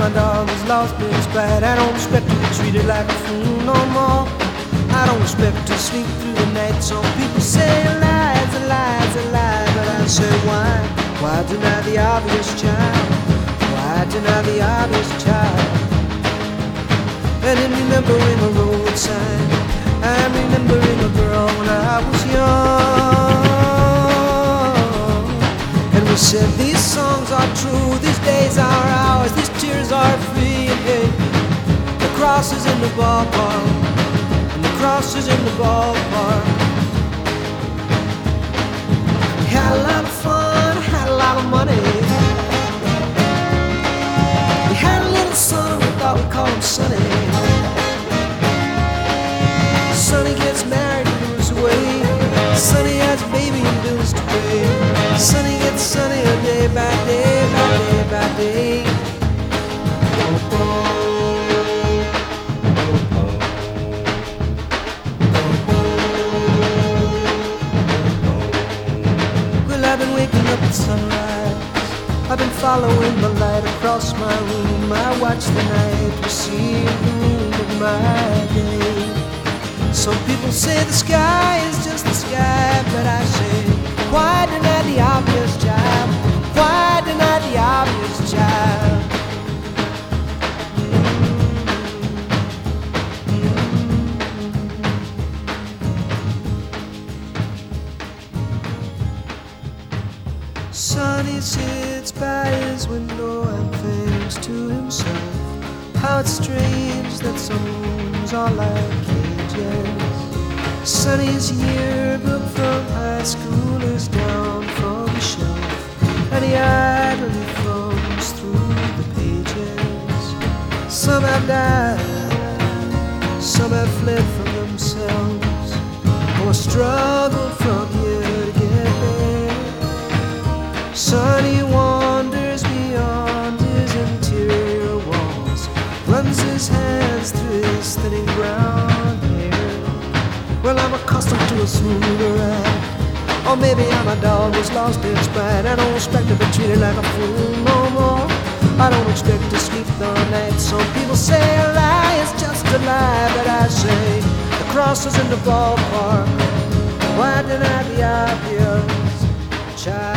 my dog has lost his bite. I don't expect to be treated like a fool no more. I don't expect to sleep through the night. Some people say lies, a lie's a lie, but I say why? Why deny the obvious child? Why deny the obvious child? And in remembering a road sign, I'm remembering a girl when I was young. And we said these songs are true, these days are ours, these tears are free. Hey, the cross is in the ballpark, and the cross is in the ballpark. We had a lot of fun, had a lot of money. We had a little son, we thought we'd call him Sonny. Sonny gets married and moves away. Sonny has a baby and bills to pay. Sonny gets sunnier day by day by day by day. Well, I've been waking up at sunrise. I've been following the light across my room. I watch the night receive the moon of my day. Some people say the sky is just the sky, but I say, why deny the obvious, child? Why deny the obvious, child? Sonny sits by his window and thinks to himself, how it's strange that some rooms are like cages. Sonny's yearbook from high school is down from the shelf, and he idly thumbs through the pages. Some have died, some have fled from themselves, or struggled from here to get there. Sonny wanders beyond his interior walls, runs his hands through his thinning brown hair. Well, I'm accustomed to a smoother ride, or maybe I'm a dog who's lost its pride. I don't expect to be treated like a fool no more. I don't expect to sleep the night. Some people say a lie is just a lie, but I say the cross is in the ballpark. Why deny the obvious, child?